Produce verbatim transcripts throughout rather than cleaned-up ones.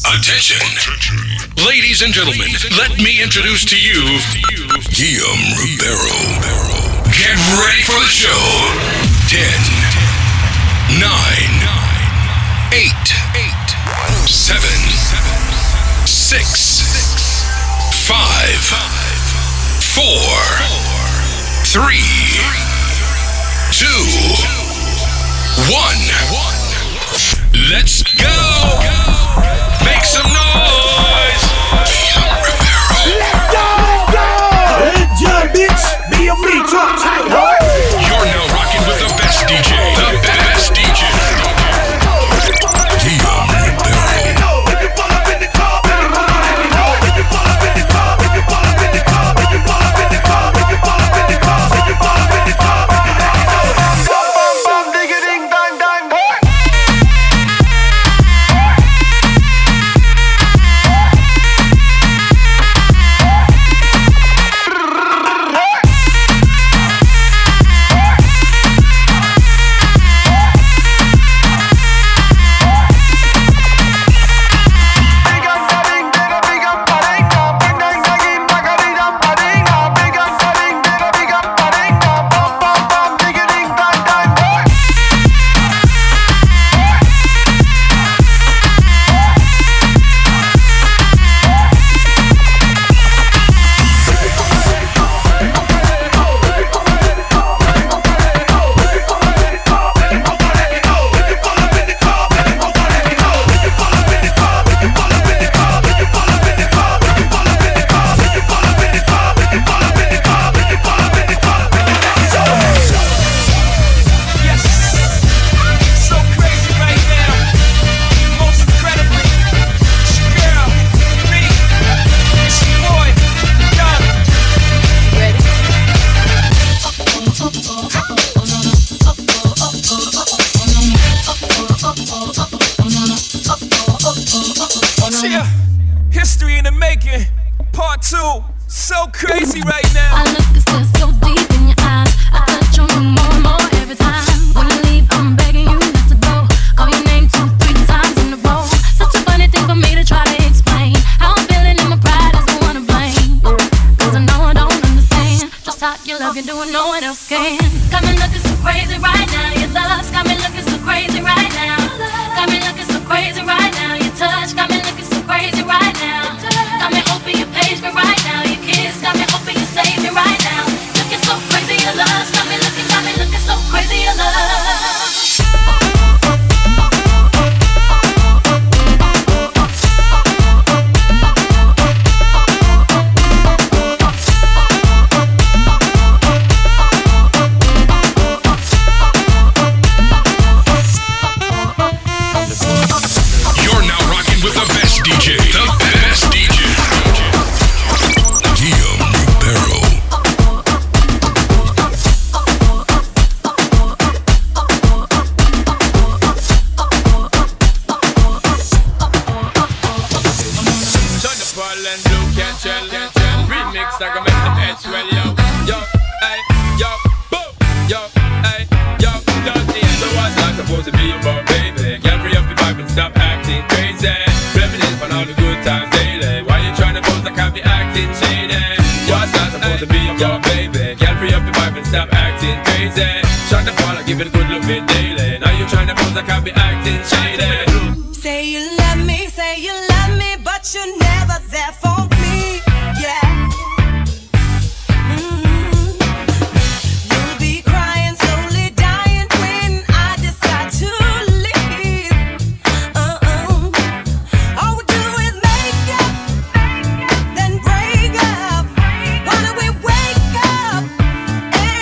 Attention. Attention. Ladies and gentlemen, let me introduce to you Guillaume Ribeiro. Get ready for the show. ten, nine, eight, seven, six, five, four, three, two, one. Let's go! Make some noise! Guillaume Ribeiro. Let's go! Let's go! Bitch! Be a me, talk tight, boy! You're now rocking with the best D J. The best D J. Guillaume Ribeiro.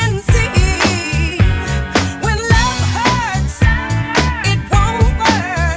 When love hurts, it won't work.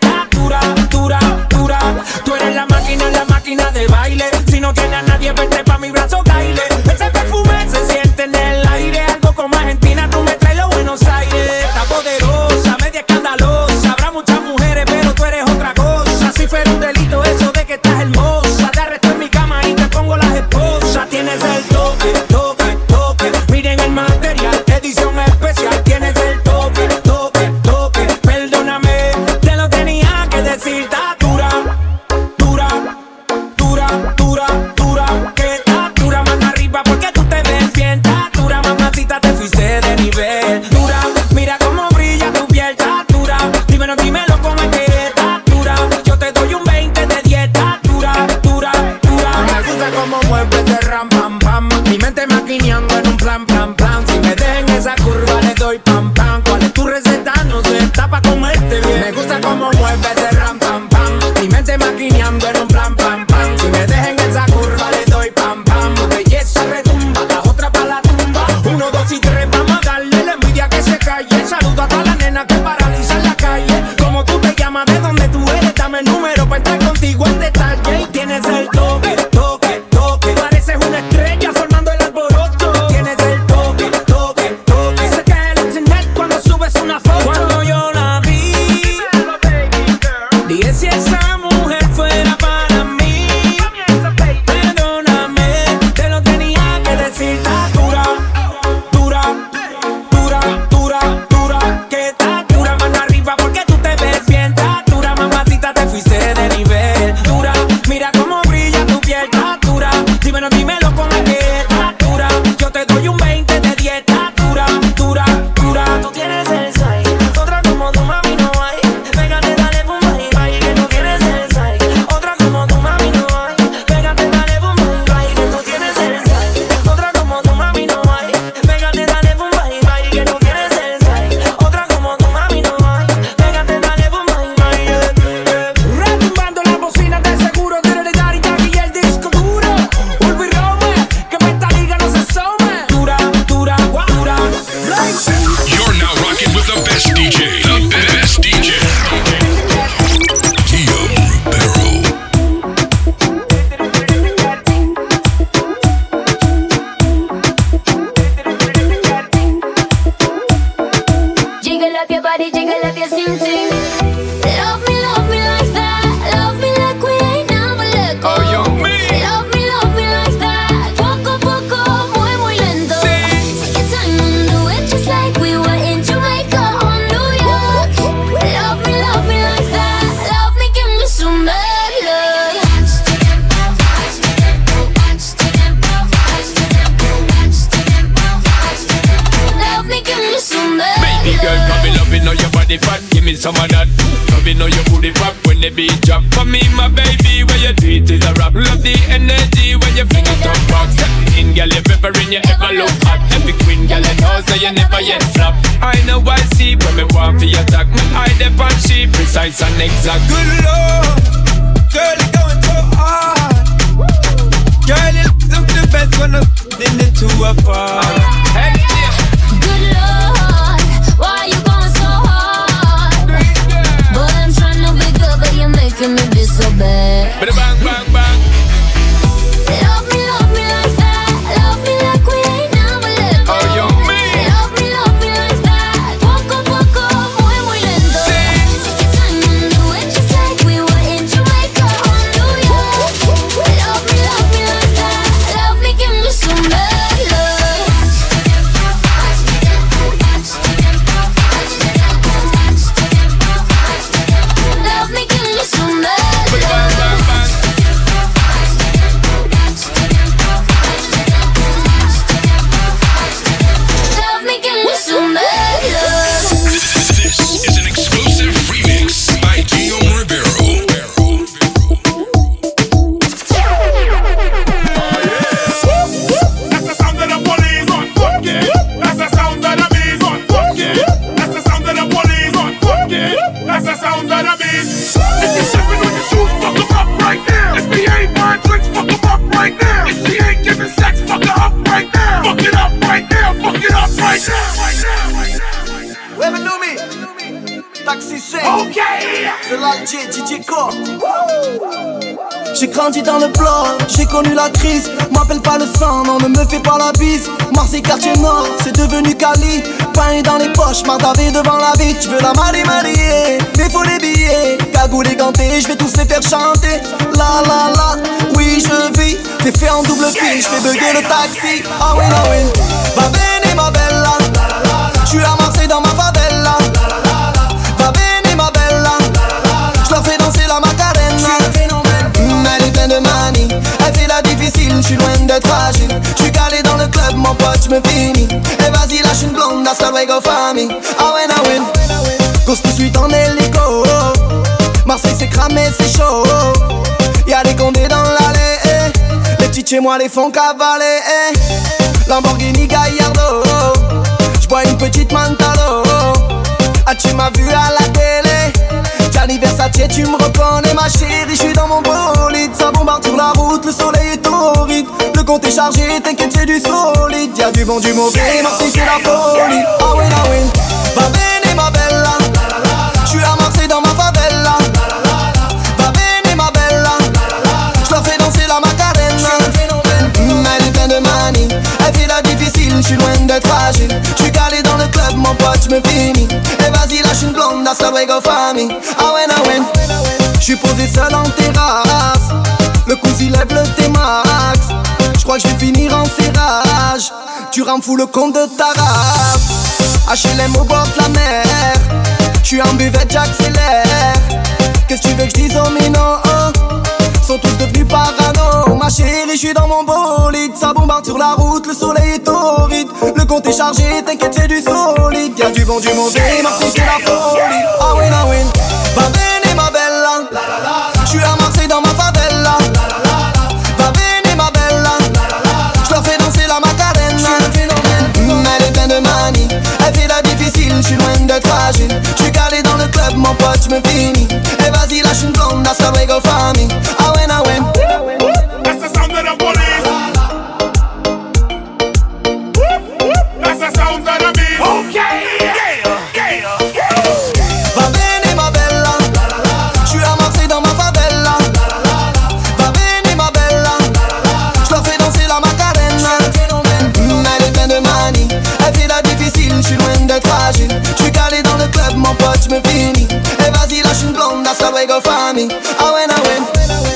ting ting. Love me, love me like that. Love me like we ain't never let go. Oh, yo, me. Love me, love me like that. Poco poco, muy muy lento. Take your time and do it just like we were in Jamaica or New York. Love me, love me like that. Love me, give me some bad love. Love me, give me some bad love. Baby girl, come in, love it, know your body fat. Give me some of that. Love it, know your booty pop when the beat drop. For me, my baby, when you do it is a rap. Love the energy when you fling it up back. Step in, girl, you peppering, you ever look hot. Every queen, girl, you know, so you never yet flop. I know I see when me want for your attack. Me eye dep on she precise and exact. Good Lord, girl, you're going so hard. Girl, you look the best when I'm in the two apart. Hey, yeah. Good Lord, why you going so hard? Boy, I'm trying to be good, but you're making me be so bad. Bada bang, bang, bang. Love me, love me like that. Love me like we ain't never let go. Oh, yo, me. Love me, love me like that. Poco poco, muy muy lento. Take your time and do it just like we were in Jamaica or New York. Love me, love me like that. Love me, give me some bad love. Love me, give me some bad Bada bang, love. bang, bang. Love me, give me some bad love. This is an exclusive remix by Guillaume Ribeiro. That's the sound of the police on fuck it. That's the sound of the bees on fuck it. That's the sound of the police on fuck it. That's the sound of the bees. If you're stepping on your shoes, fuck 'em up right now. If he ain't buying drinks, fuck 'em up right now. If she ain't giving sex, fuck her up right now. Fuck it up right now. Fuck it up right now. Right now. Right now. Right now. Ouais, mais Noumi, Taxi cinq, Okay. c'est l'Alger, D J Core. J'ai grandi dans le bloc, j'ai connu la crise. M'appelle pas le sang, non, ne me fais pas la bise. Marseille, quartier nord, c'est devenu Cali. Pain dans les poches, mardavé devant la vie. Je veux la marier, marier, mais faut les billets. Cagoule et ganté, je vais tous les faire chanter. La la la, oui je vis. T'es fait en double fil, je fais bugger le taxi. Ah oui, ah oui. Va bene ma bella, j'suis à Marseille dans ma favela. Va bene ma bella, j'leur fais danser la Macarena. Mm, elle est pleine de manie, elle fait la difficile, j'suis loin d'être fragile. J'suis calé dans le club, mon pote, j'me finis. Et vas-y lâche une blonde, hasta luego famille. Ah ouais, ah ouais. Cause tout de suite en hélico. Marseille c'est cramé, c'est chaud. Y'a des condés dans l'allée, eh. Les petits chez moi les font cavaler, eh. Lamborghini Gallardo, j'bois une petite Mantalo. Ah tu m'as vu à la télé, Gianni Versace tu me reconnais ma chérie. J'suis dans mon bolide, ça bombarde sur la route, le soleil est torride. Le compte est chargé, t'inquiète c'est du solide. Y'a du bon, du mauvais, Marseille c'est la folie. Ah oui, ah oui. Va bene ma bella, j'suis à Marseille dans ma favela. Va bene ma bella, j'leur fais danser la Macarena. Mm, elle est pleine de manie, elle fait la difficile, j'suis loin d'être fragile. J'suis calé dans le club, mon pote, j'me finis. Et vas-y lâche une blonde, hasta luego famille. Ah ouais, ah ouais. J'suis posé seul en terrasse, le cousin lève le T-Max. J'crois que j'vais finir en serrage. Tu rends fou le compte de ta race. H L M au bord de la mer, j'suis en buvette, j'accélère. Qu'est-ce que tu veux que j'dise aux minots, oh? Sont tous devenus parano. Ma chérie, j'suis dans mon bolide, ça bombarde sur la route, le soleil est torride. Le compte est chargé, t'inquiète c'est du solide. Y'a du bon, du mauvais, Marseille c'est la folie. Ah oui, ah oui. Va bene ma bella, j'suis à Marseille dans ma favela. Va bene ma bella, j'leur fais danser la Macarena. Mm, elle est pleine de manie, elle fait la difficile, j'suis loin d'être fragile. J'suis calé dans le club, mon pote, j'me finis. Et vas-y lâche une blonde, hasta luego famille. Ah ouais, ah ouais. That's the sound of the police. That's the sound of the bees. Okay. Yeah, yeah, yeah. Va bene ma bella, j'suis à Marseille dans ma favela. Va bene ma bella, j'leur fais danser la Macarena. Mm, elle est pleine de manie, elle fait la difficile, j'suis loin d'être fragile. J'suis calé dans le club, mon pote, j'me finis. they go find me. I win, I win.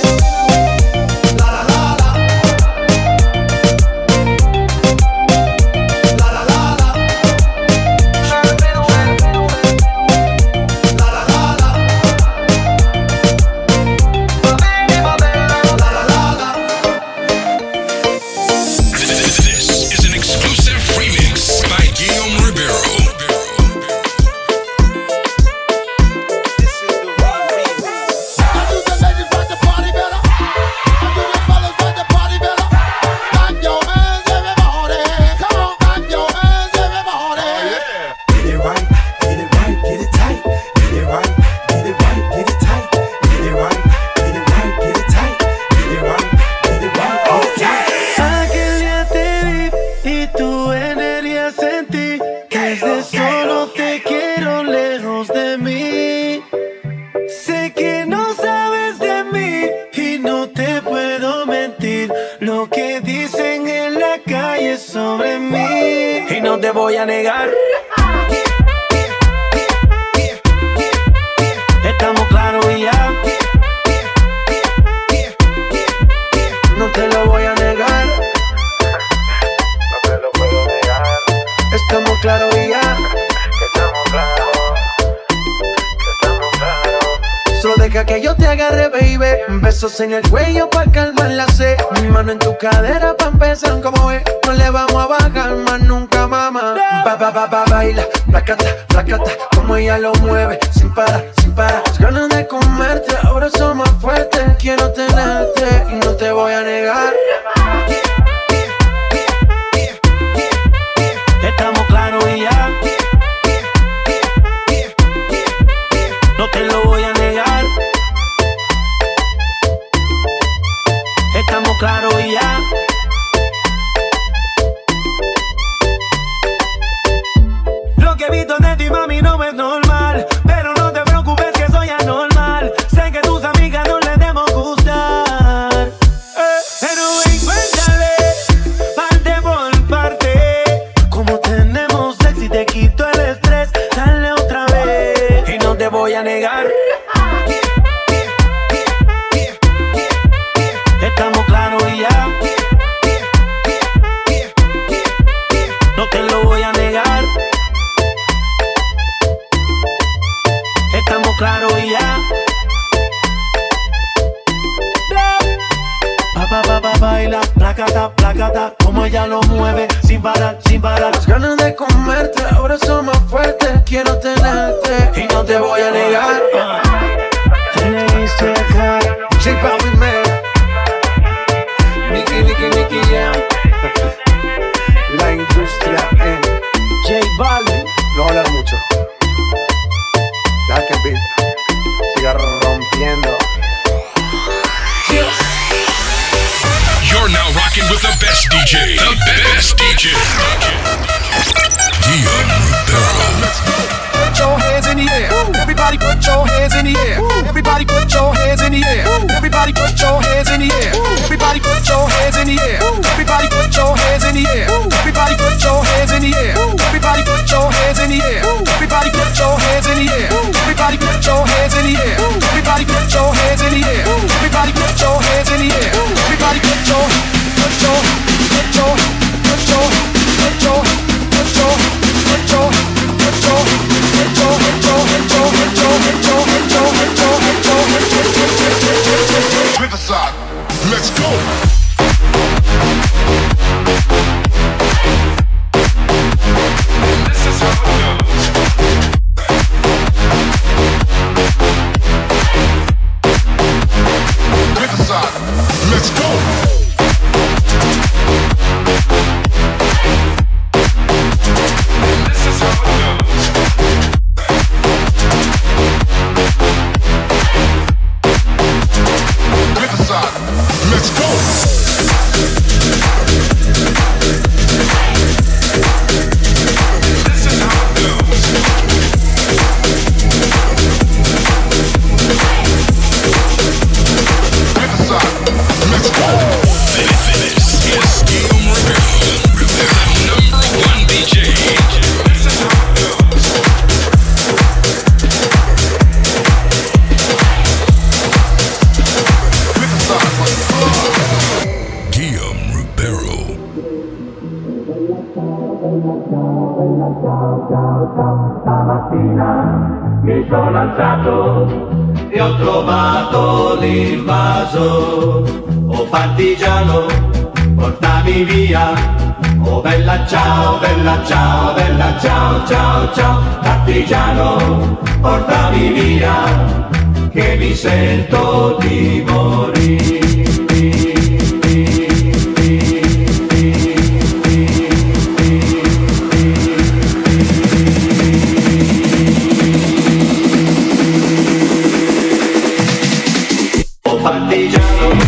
Voy a negar. Estamos claros y ya. No te lo voy a negar. No te lo puedo negar. Estamos claros y ya. Estamos claros. Estamos claros. Solo deja que yo te agarre, baby. Besos en el cuello pa' calmar la sed. Mi mano en tu cadera pa' empezar, como ves. No le vamos a bajar más nunca, mamá. Ba, ba, ba, ba, baila, placata, placata. Como ella lo mueve, sin parar, sin parar. Las ganas de comerte, ahora son más fuertes. Quiero tenerte y no te voy a negar. Estamos claros y ya. No te lo voy a negar. Estamos claros y ya. Lo que he visto de ti, mami, no es normal. Pero no te preocupes que soy anormal. Sé que tus amigas no les debemos gustar. eh, Pero ven, cuéntale, parte por parte. Como tenemos sexy, te quito el estrés. Dale otra vez y no te voy a negar. Estamos claros y ya. No te lo voy a negar. Estamos claros y ya. Pa, pa, pa, pa, baila, placata, placata. Como ella lo mueve, sin parar, sin parar. Las ganas de comerte, ahora son más fuertes. Quiero tenerte y no te voy a negar. J Balvin, man. Nicky, Nicky, Nicky, yeah. La industria en J Balvin. no hablar mucho. Deja que el beat siga rompiendo. You're now rocking with the best D J. The best D J. Guillaume Rivera. Put your hands in the air. Everybody put your hands in the air. Everybody put your hands in the air. Everybody put your hands in the air. Everybody put your hands in the air. Everybody put your hands in the air. Everybody put your hands in the air. Everybody put your hands in the air. Everybody put your hands in the air. Everybody put your hands in the air. Everybody put your hands in the air. Everybody put your hands in the air. Everybody put your put your put your put your put your put your put your put your Riverside, let's go. Mi sono alzato e ho trovato l'invaso. Oh partigiano, portami via. Oh bella ciao, bella ciao, bella ciao, ciao, ciao. Partigiano, portami via, che mi sento di morire. Partigiano,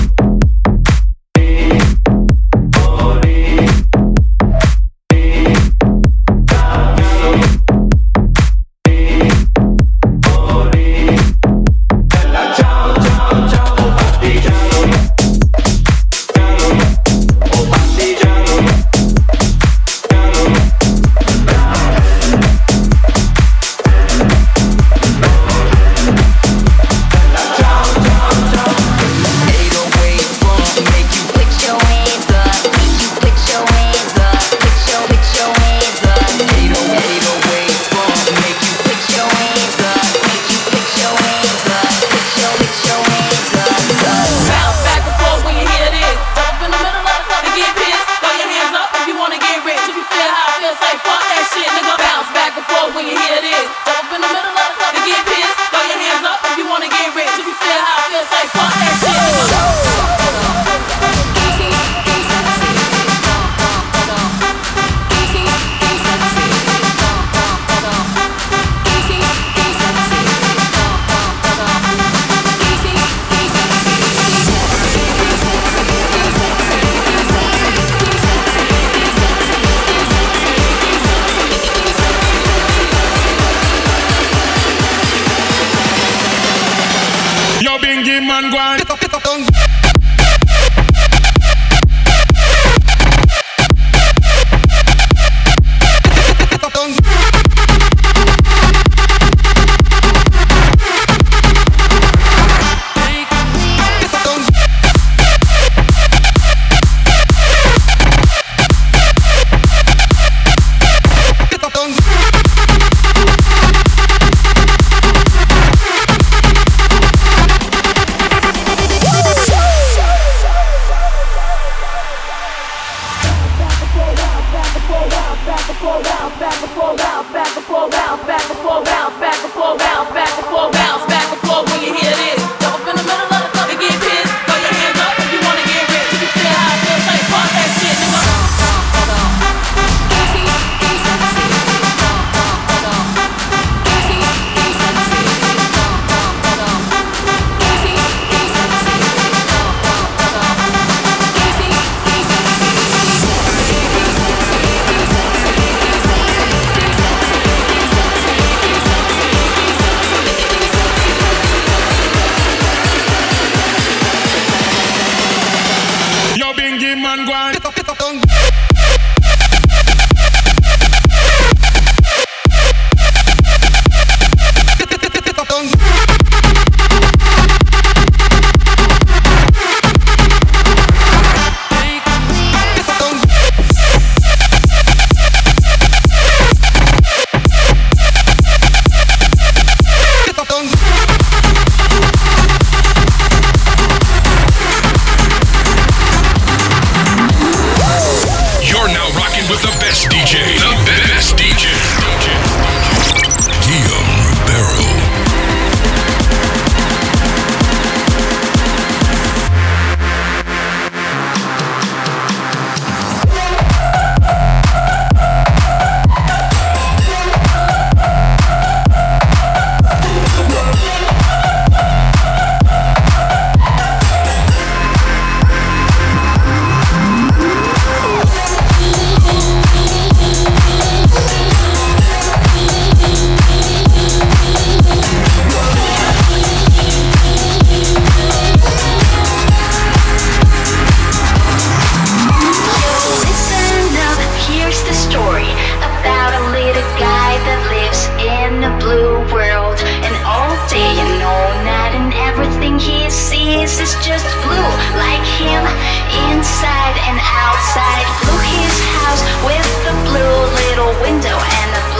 inside and outside. Blew his house with the blue little window and the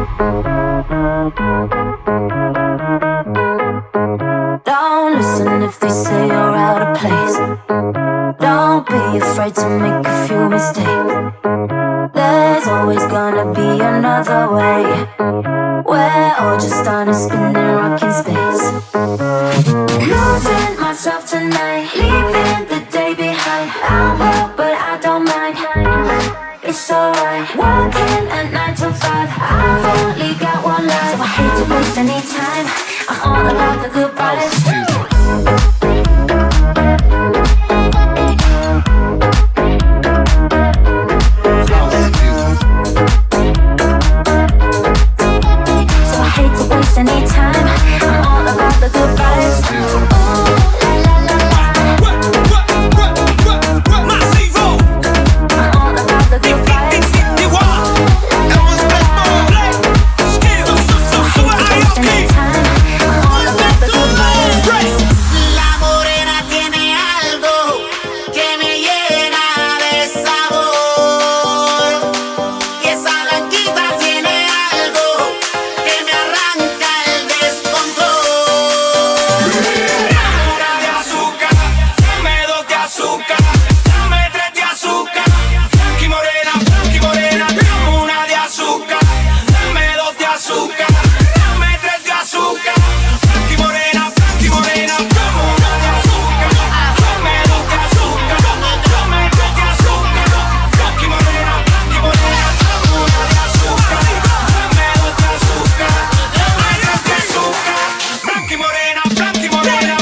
Don't listen if they say you're out of place. Don't be afraid to make a few mistakes. There's always gonna be another way. We're all just on a spinning rock in space. Losing myself tonight, leaving the day behind. I'm broke but I don't mind. It's alright. Working at nine to five. I've only got one life, so I hate to waste any time. I'm all about the good vibes. Anytime, I'm all about the good vibes. Oh, la la la la. Massivo. I'm all about the good vibes. La morena tiene algo que me llena de sabor. Y esa blanquita tiene algo que me arranca el descontrol. Una de azúcar, dame dos de azúcar, dame tres de azúcar. Blanqui morena, blanqui morena, dame una de azúcar, dame dos de azúcar, dame tres de azúcar. Blanqui morena, blanqui morena, dame una de azúcar, dame dos de azúcar, dame tres de azúcar. Blanqui morena, blanqui morena, dame una de azúcar, dame dos de azúcar, dame tres de azúcar. Blanqui morena, blanqui morena.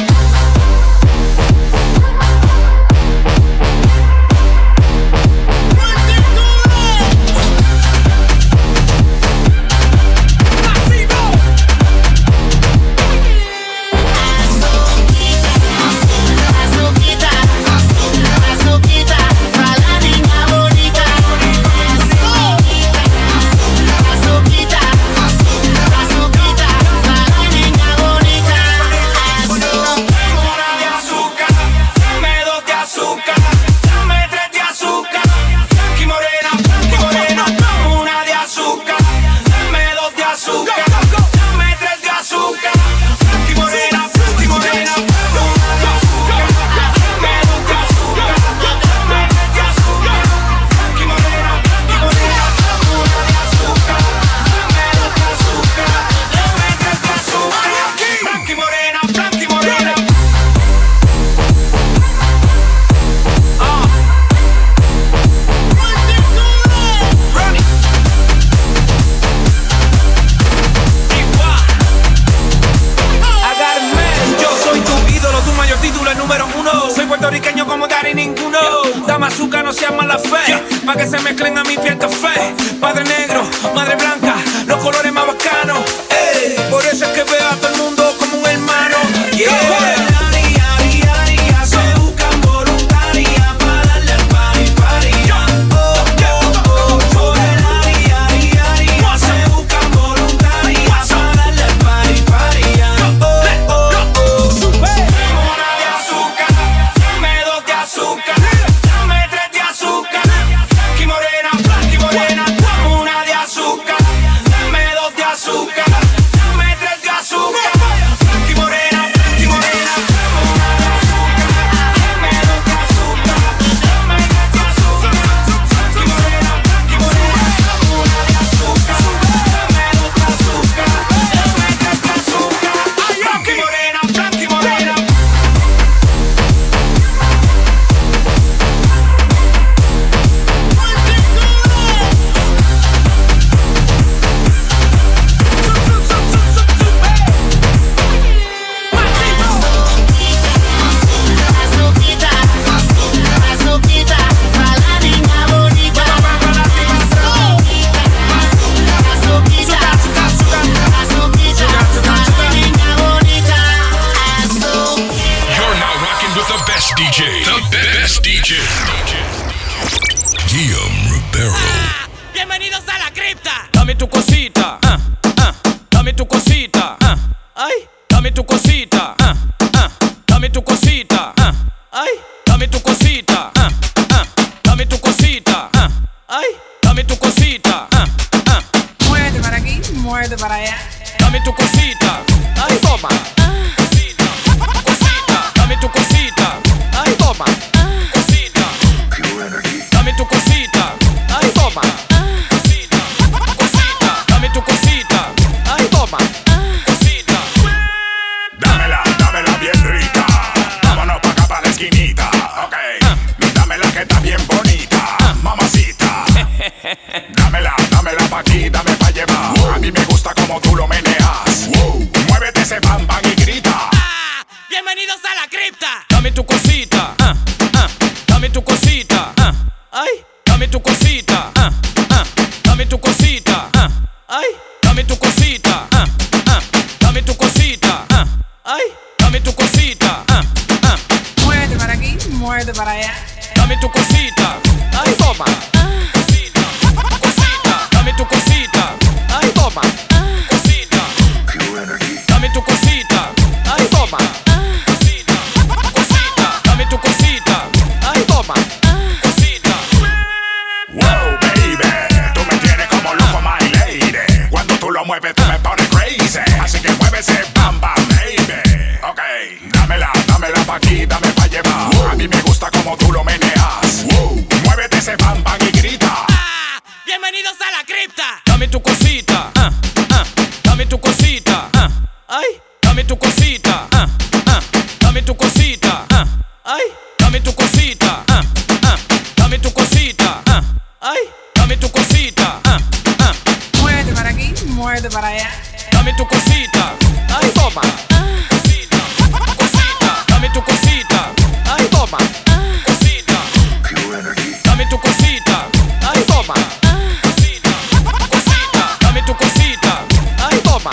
Azuquita, azuquita, para la niña bonita. Azuquita, azuquita, para la niña bonita. Una de azúcar, dame dos de azúcar, dame tres de azúcar. Blanqui morena, blanqui morena, dame una de azúcar, dame dos de azúcar, dame tres de azúcar. Blanqui morena, blanqui morena, dame una de azúcar, dame dos de azúcar, dame tres de azúcar. Blanqui morena, blanqui morena, dame una de azúcar, dame dos de azúcar, dame tres de azúcar. Blanqui morena, blanqui morena. I got a man. Yo soy tu ídolo, tu mayor título, el número uno. Soy puertorriqueño como Daddy ninguno. Dame azúcar, no seas mala fe. Pa' que se mezclen a mi piel café. Padre negro, madre blanca, los colores más bacanos. Ey, por eso es que veo a todo el mundo como un hermano. Yeah. Se buscan voluntarias pa' darle al party, party. Oh, oh, oh, por el ari, ari, ari. Se buscan voluntarias pa' darle al party, party. Oh, oh, oh. Dame una de azúcar, dame dos de azúcar, dame tres de azúcar. Blanqui morena, blanqui morena, dame una de azúcar, dame dos de azúcar. muerde para allá. Dame tu cosita, ay toma. Cosita, cosita, dame tu cosita, ay toma. Cosita, dame tu cosita, ay toma. Cosita, cosita, dame tu cosita, ay toma. Cosita, Dámela, dámela bien rica. Vámonos pa' acá pa' la esquinita. Ok, dámela que está bien bonita, mamacita. Dámela, dámela pa' aquí, dame pa' llevar. A mí me gusta como tú lo meneas. Muévete ese bam bam y grita. Bienvenidos a la cripta. dame tu cosita, ah, ah, dame tu cosita, ah, ay, dame tu cosita, ah, ah, dame tu cosita, ah, ay, dame tu cosita, ah, ah, dame tu cosita, ah, ay, dame tu cosita, ah, ah, Muerde para aquí, muerde para allá. dame tu cosita, ay toma. Cosita, cosita, dame tu cosita, ay toma. Cosita, dame tu cosita, ay toma. Cosita, cosita, dame tu cosita, ay toma. Cosita, Wow, baby, tú me tienes como loco, my lady. Cuando tú lo mueves, tú me pones crazy. Así que mueve ese bam bam, baby. Ok, dámela, dámela pa' aquí, dame pa' llevar. A mí me gusta como tú lo meneas. Muévete ese bam bam y grita. Bienvenidos a la cripta. dame tu cosita, ah, ah, dame tu cosita, ah, ay, dame tu cosita, ah, ah, dame tu cosita, ah, ay, dame tu cosita, ah, ah, dame tu cosita, ah, ay, dame tu cosita, ah, ah, Muerde para aquí, muerde para allá. dame tu cosita, ay toma. Cosita, cosita, dame tu cosita, ay toma. Cosita, dame tu cosita, ay toma. Cosita, cosita, dame tu cosita, ay toma.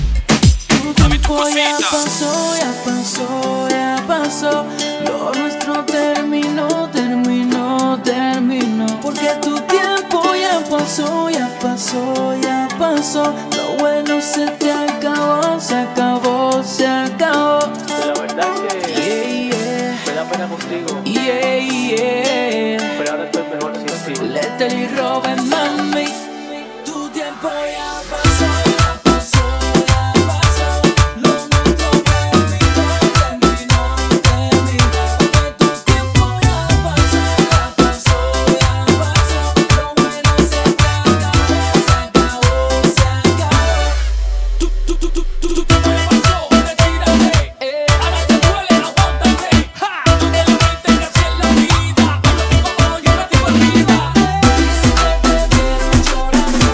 Dame tu Ya cosita. pasó, ya pasó, ya pasó. Lo nuestro terminó, terminó, terminó. Porque tu tiempo ya pasó, ya pasó, ya pasó. Lo bueno se te acabó, se acabó, se acabó. De la verdad que Yeah, yeah, me da pena contigo, yeah, yeah. pero ahora estoy mejor sin ti. Lethal y Robin, mami. Tu tiempo ya pasó, ya pasó, ya pasó. Lo nuestro terminó, terminó, terminó. Que tu tiempo ya pasó, ya pasó, ya pasó. Lo bueno se te acabó, se acabó, se acabó. Tu, tu, tu, tu, tu, tu tiempo ya pasó, retírate. Eh, ahora te duele, aguántate. Ja, tú te la mente que así es la vida. Cuando tu papá no llega, te olvida. Si te vieron llorando,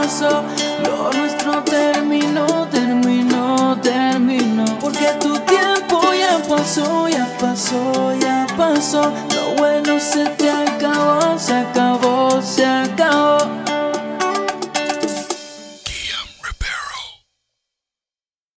pasó. Lo nuestro terminó, terminó, terminó. Porque tu tiempo ya pasó, ya pasó, ya pasó. Lo bueno se te acabó, se acabó.